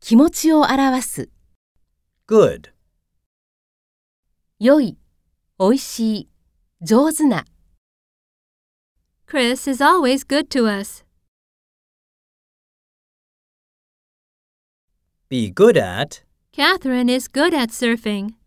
気持ちを表す。 good, 良い、おいしい、上手な。 Chris is always good to us. be good at, Catherine is good at surfing.